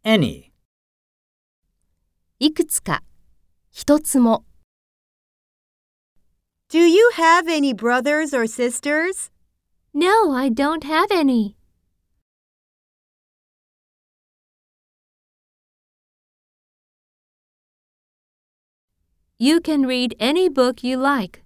any. いくつか、一つも。 Do you have any brothers or sisters? No, I don't have any. You can read any book you like.